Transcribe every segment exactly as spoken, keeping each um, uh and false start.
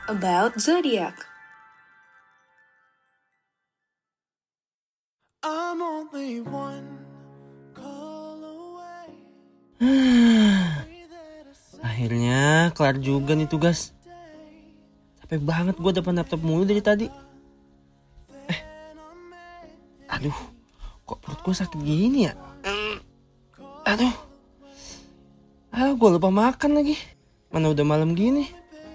about zodiac. I'm only one call away. Akhirnya kelar juga nih tugas. Capek banget gue depan laptop mulu dari tadi. Eh, aduh, kok perut gue sakit gini ya? Aduh, aduh gue lupa makan lagi. Mana udah malam gini.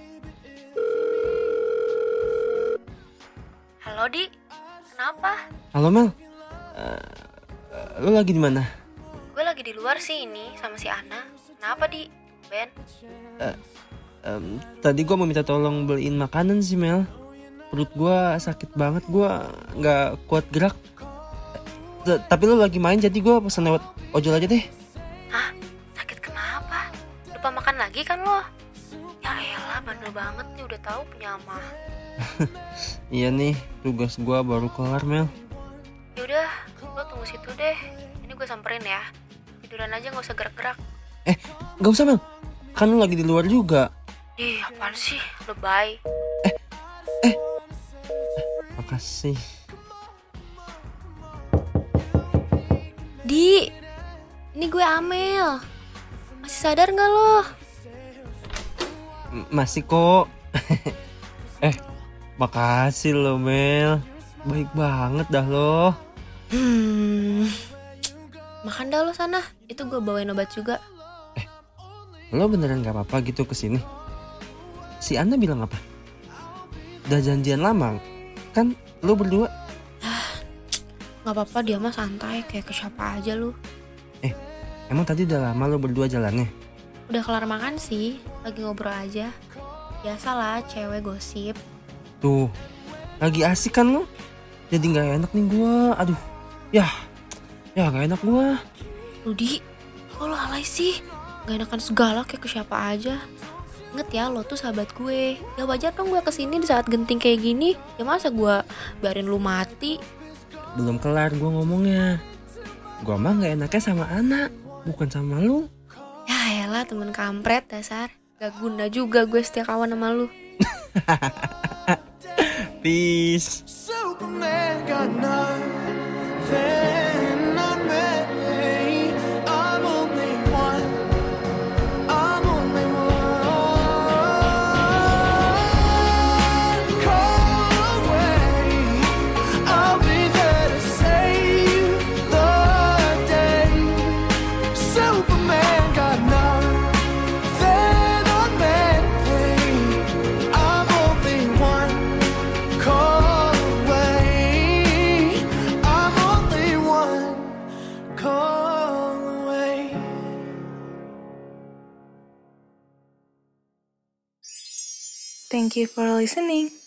Halo Di, kenapa? Halo Mel, uh, lo lagi di mana? Gue lagi di luar sih ini sama si Ana. Kenapa Di? Ben? Uh, um, tadi gue mau minta tolong beliin makanan sih Mel. Perut gue sakit banget, gue nggak kuat gerak. T- Tapi lo lagi main jadi gue pesan lewat ojol aja deh. Hah? Sakit kenapa? Lupa makan lagi kan lo? Ya elah, bandel banget nih, udah tahu penyamah. Iya nih, tugas gue baru kelar Mel. Yaudah, lo tunggu situ deh. Ini gue samperin ya. Tiduran aja, gak usah gerak-gerak. Eh, gak usah Mel, kan lo lagi di luar juga. Ih, apaan sih? Lebay. Makasih. Di, ini gue Amel. Masih sadar gak lo? M- Masih kok. Eh, makasih lo Mel. Baik banget dah lo. Hmm, makan dah lo sana. Itu gue bawain obat juga. Lo beneran gak apa-apa gitu kesini? Si Ana bilang apa? Udah janjian lama? Kan lo berdua. Gak apa-apa, dia mah santai. Kayak ke siapa aja lu. Eh, emang tadi udah lama lo berdua jalannya? Udah kelar makan sih. Lagi ngobrol aja. Biasalah cewek gosip. Tuh, lagi asik kan lo? Jadi gak enak nih gue. Aduh, ya, ya gak enak gue. Rudi, kok lo alay sih? Gak enakan segala kayak ke siapa aja. Ingat ya, lo tuh sahabat gue. Ya wajar dong gue kesini di saat genting kayak gini. Ya masa gue biarin lu mati? Belum kelar gue ngomongnya. Gue mah gak enaknya sama anak, bukan sama lu. Ya elah, temen kampret dasar. Gak guna juga gue setia kawan sama lu. Peace. Superman got nothing on me. I'm only one. I'm only one call away. I'll be there to save the day. Superman got nothing on me. I'm only one call away. I'm only one call away. Thank you for listening.